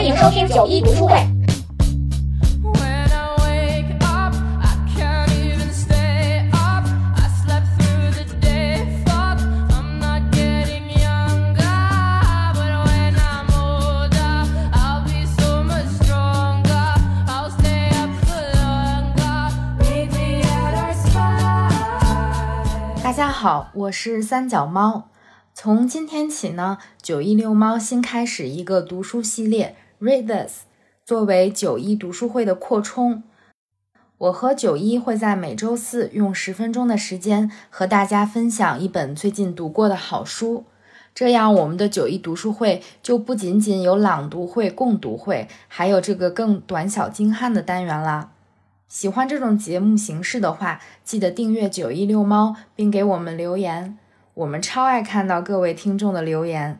迎收听91读书会。 大家好，我是三脚猫。从今天起呢，916猫新开始一个读书系列 Read This， 作为91读书会的扩充。我和91会在每周四用10分钟的时间和大家分享一本最近读过的好书。这样我们的91读书会就不仅仅有朗读会、共读会，还有这个更短小精悍的单元啦。喜欢这种节目形式的话，记得订阅916猫并给我们留言，我们超爱看到各位听众的留言。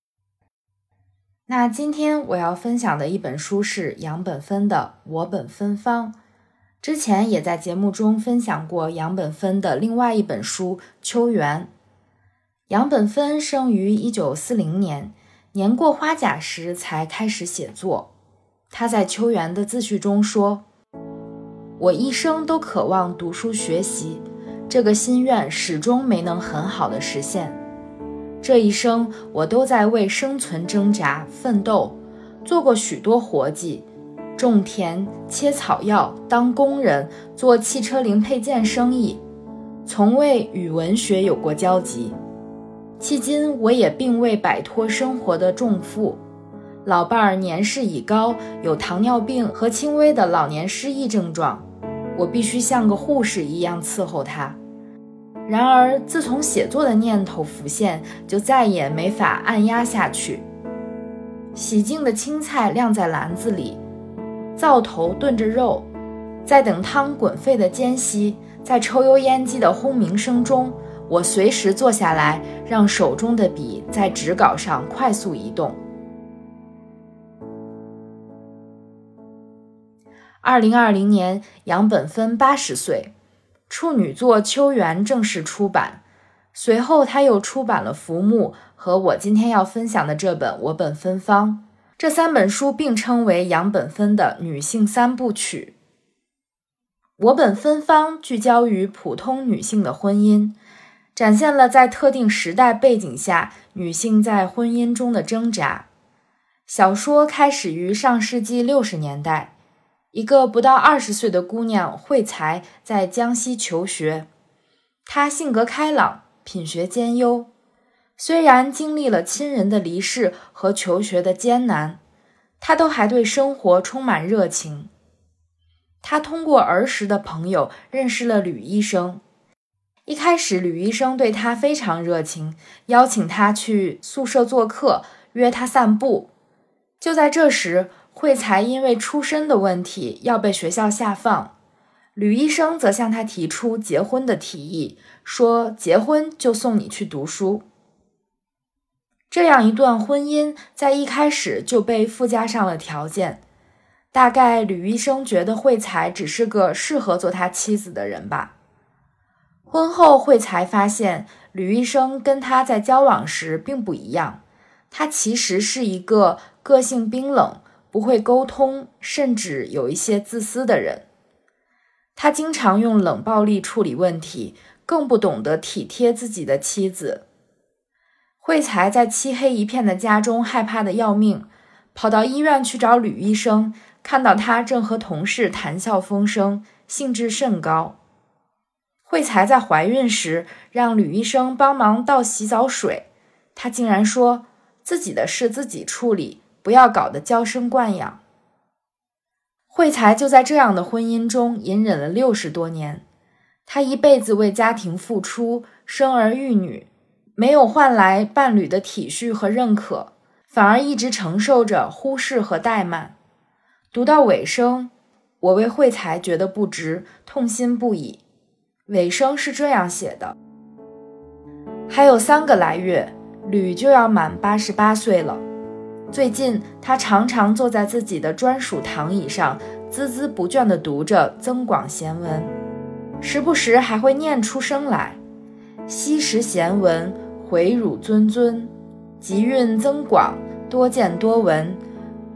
那今天我要分享的一本书是杨本芬的《我本芬芳》。之前也在节目中分享过杨本芬的另外一本书《秋园》。杨本芬生于1940年，年过花甲时才开始写作。他在《秋园》的自序中说，我一生都渴望读书学习，这个心愿始终没能很好的实现。这一生我都在为生存挣扎奋斗，做过许多活计，种田、切草药、当工人、做汽车零配件生意，从未与文学有过交集。迄今我也并未摆脱生活的重负，老伴儿年事已高，有糖尿病和轻微的老年失忆症状，我必须像个护士一样伺候他。然而自从写作的念头浮现，就再也没法按压下去。洗净的青菜晾在篮子里，灶头炖着肉，在等汤滚沸的间隙，在抽油烟机的轰鸣声中，我随时坐下来，让手中的笔在纸稿上快速移动。2020年，杨本芬80岁，处女作《秋园》正式出版。随后他又出版了《浮木》和我今天要分享的这本《我本芬芳》。这3本书并称为杨本芬的女性3部曲。《我本芬芳》聚焦于普通女性的婚姻，展现了在特定时代背景下女性在婚姻中的挣扎。小说开始于上世纪60年代，一个不到20岁的姑娘惠才在江西求学。她性格开朗，品学兼优，虽然经历了亲人的离世和求学的艰难，她都还对生活充满热情。她通过儿时的朋友认识了吕医生。一开始吕医生对她非常热情，邀请她去宿舍做客，约她散步。就在这时，惠才因为出身的问题要被学校下放，吕医生则向他提出结婚的提议，说结婚就送你去读书。这样一段婚姻在一开始就被附加上了条件，大概吕医生觉得惠才只是个适合做他妻子的人吧。婚后惠才发现吕医生跟他在交往时并不一样，他其实是一个个性冰冷，不会沟通，甚至有一些自私的人。他经常用冷暴力处理问题，更不懂得体贴自己的妻子。惠才在漆黑一片的家中害怕得要命，跑到医院去找吕医生，看到他正和同事谈笑风生，兴致甚高。惠才在怀孕时让吕医生帮忙倒洗澡水，他竟然说自己的事自己处理，不要搞得娇生惯养。惠才就在这样的婚姻中隐忍了60多年，她一辈子为家庭付出，生儿育女，没有换来伴侣的体恤和认可，反而一直承受着忽视和怠慢。读到尾声，我为惠才觉得不值，痛心不已。尾声是这样写的：还有3个来月，吕就要满88岁了。最近他常常坐在自己的专属躺椅上，孜孜不倦地读着《增广贤文》，时不时还会念出声来：昔时贤文，回汝谆谆，集韵增广，多见多闻，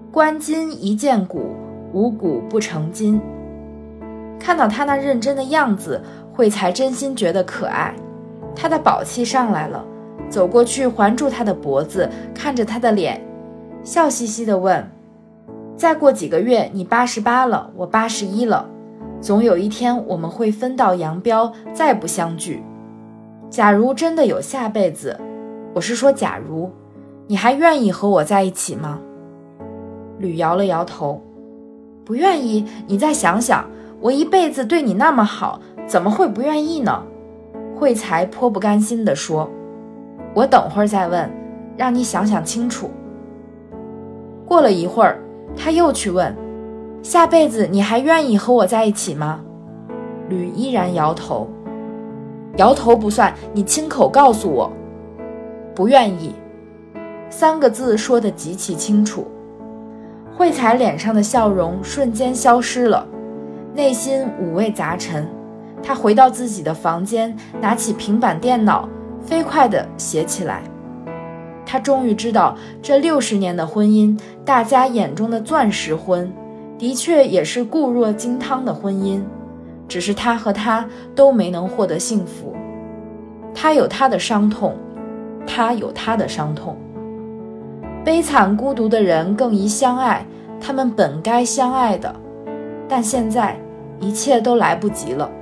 观今一见古，无古不成今。看到他那认真的样子，惠才真心觉得可爱。他的宝气上来了，走过去环住他的脖子，看着他的脸，笑嘻嘻地问：再过几个月你88了，我81了，总有一天我们会分道扬镳，再不相聚。假如真的有下辈子，我是说假如，你还愿意和我在一起吗？吕摇了摇头，不愿意，你再想想，我一辈子对你那么好，怎么会不愿意呢？惠才颇不甘心地说，我等会儿再问，让你想想清楚。过了一会儿，他又去问，下辈子你还愿意和我在一起吗？吕依然摇头。摇头不算，你亲口告诉我。不愿意，3个字说得极其清楚。惠才脸上的笑容瞬间消失了，内心五味杂陈。他回到自己的房间，拿起平板电脑，飞快地写起来。他终于知道，这60年的婚姻，大家眼中的钻石婚，的确也是固若金汤的婚姻，只是他和她都没能获得幸福。他有他的伤痛，他有他的伤痛。悲惨孤独的人更宜相爱，他们本该相爱的，但现在一切都来不及了。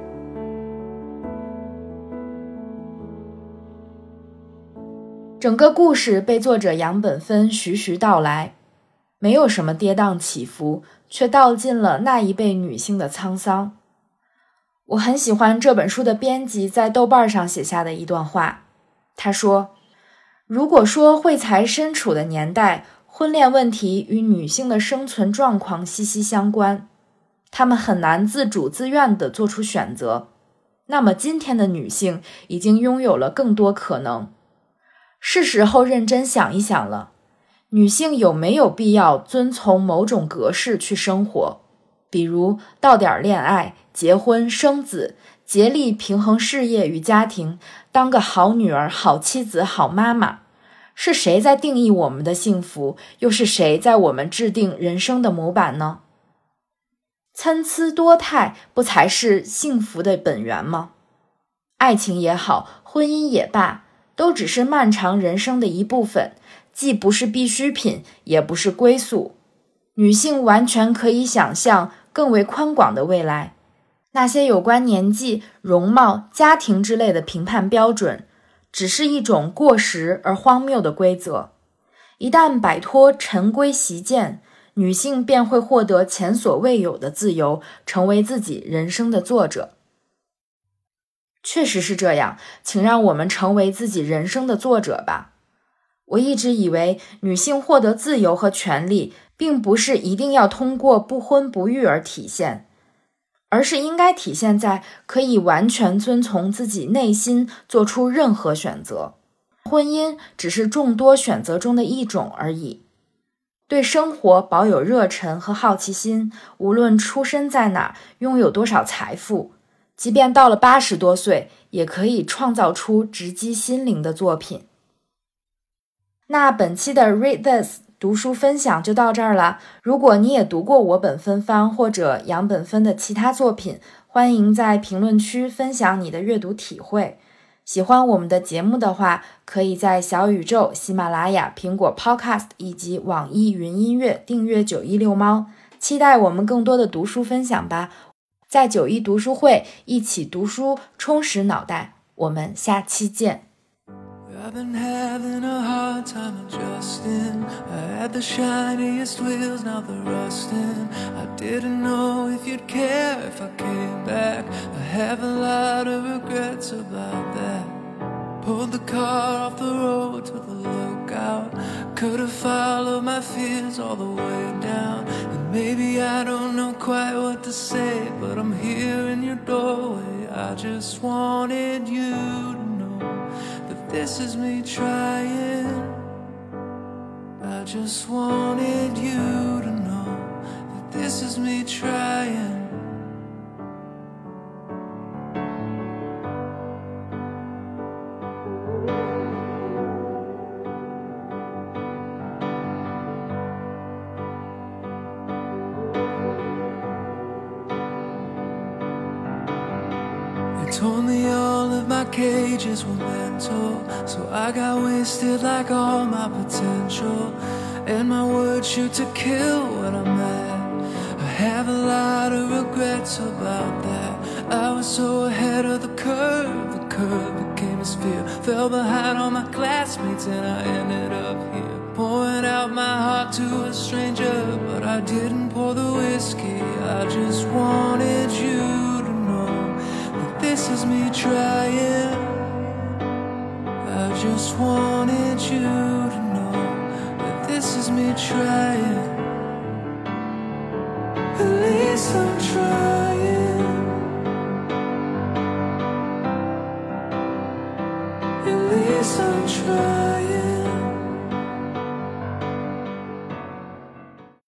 整个故事被作者杨本芬徐徐道来，没有什么跌宕起伏，却道尽了那一辈女性的沧桑。我很喜欢这本书的编辑在豆瓣上写下的一段话，他说，如果说惠才身处的年代，婚恋问题与女性的生存状况息息相关，她们很难自主自愿地做出选择，那么今天的女性已经拥有了更多可能。是时候认真想一想了，女性有没有必要遵从某种格式去生活，比如到点恋爱、结婚、生子，竭力平衡事业与家庭，当个好女儿、好妻子、好妈妈。是谁在定义我们的幸福，又是谁在我们制定人生的模板呢？参差多态不才是幸福的本源吗？爱情也好，婚姻也罢，都只是漫长人生的一部分，既不是必需品，也不是归宿。女性完全可以想象更为宽广的未来。那些有关年纪、容貌、家庭之类的评判标准，只是一种过时而荒谬的规则。一旦摆脱陈规习惯，女性便会获得前所未有的自由，成为自己人生的作者。确实是这样，请让我们成为自己人生的作者吧。我一直以为女性获得自由和权利，并不是一定要通过不婚不育而体现，而是应该体现在可以完全遵从自己内心做出任何选择。婚姻只是众多选择中的一种而已。对生活保有热忱和好奇心，无论出身在哪，拥有多少财富，即便到了80多岁，也可以创造出直击心灵的作品。那本期的 Read This 读书分享就到这儿了。如果你也读过我本芬芳或者杨本芬的其他作品，欢迎在评论区分享你的阅读体会。喜欢我们的节目的话，可以在小宇宙、喜马拉雅、苹果 Podcast 以及网易云音乐订阅916猫，期待我们更多的读书分享吧。在91读书会一起读书，充实脑袋，我们下期见。 I've been having a hard time adjusting. I had the shiniest wheels, now they're rusting. I didn't know if you'd care if I came back. I have a lot of regrets about that. Pulled the car off the road to the lookout. Could have followed my fears all the way down. And maybe I don't know quite what to say, but I'm here in your doorway. I just wanted you to know that this is me trying. I just wanted you to know that this is me trying. Told me all of my cages were mental, so I got wasted like all my potential. And my words shoot to kill when I'm mad. I have a lot of regrets about that. I was so ahead of the curve became a sphere. Fell behind all my classmates and I ended up here, pouring out my heart to a stranger. But I didn't pour the whiskey, I just wanted you to know that this is me trying. I just wanted you to know that this is me trying. At least I'm trying. At least I'm trying.